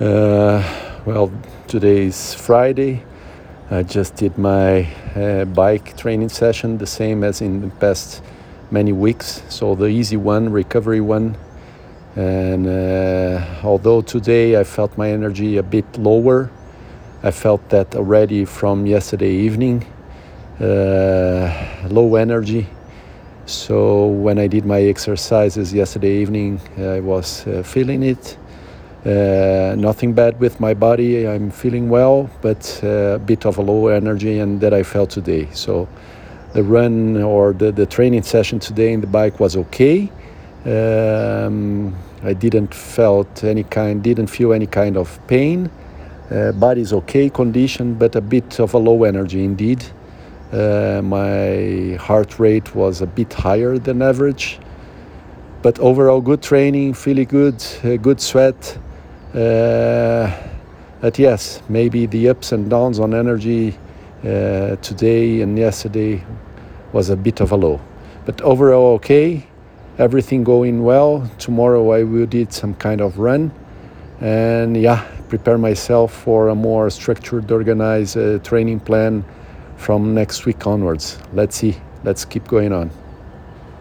Uh, well, today is Friday. I just did my bike training session, the same as in the past many weeks. So the easy one, recovery one. And although today I felt my energy a bit lower, I felt that already from yesterday evening, low energy. So when I did my exercises yesterday evening, I was feeling it. Nothing bad with my body. I'm feeling well, but a bit of a low energy, and that I felt today. So the run or the training session today in the bike was okay. I didn't feel any kind of pain. Body's okay condition, but a bit of a low energy indeed. My heart rate was a bit higher than average, but overall good training, feeling good, good sweat. But yes, maybe the ups and downs on energy today and yesterday was a bit of a low. But overall okay, everything going well. Tomorrow I will do some kind of run and prepare myself for a more structured, organized training plan from next week onwards. Let's see. Let's keep going on.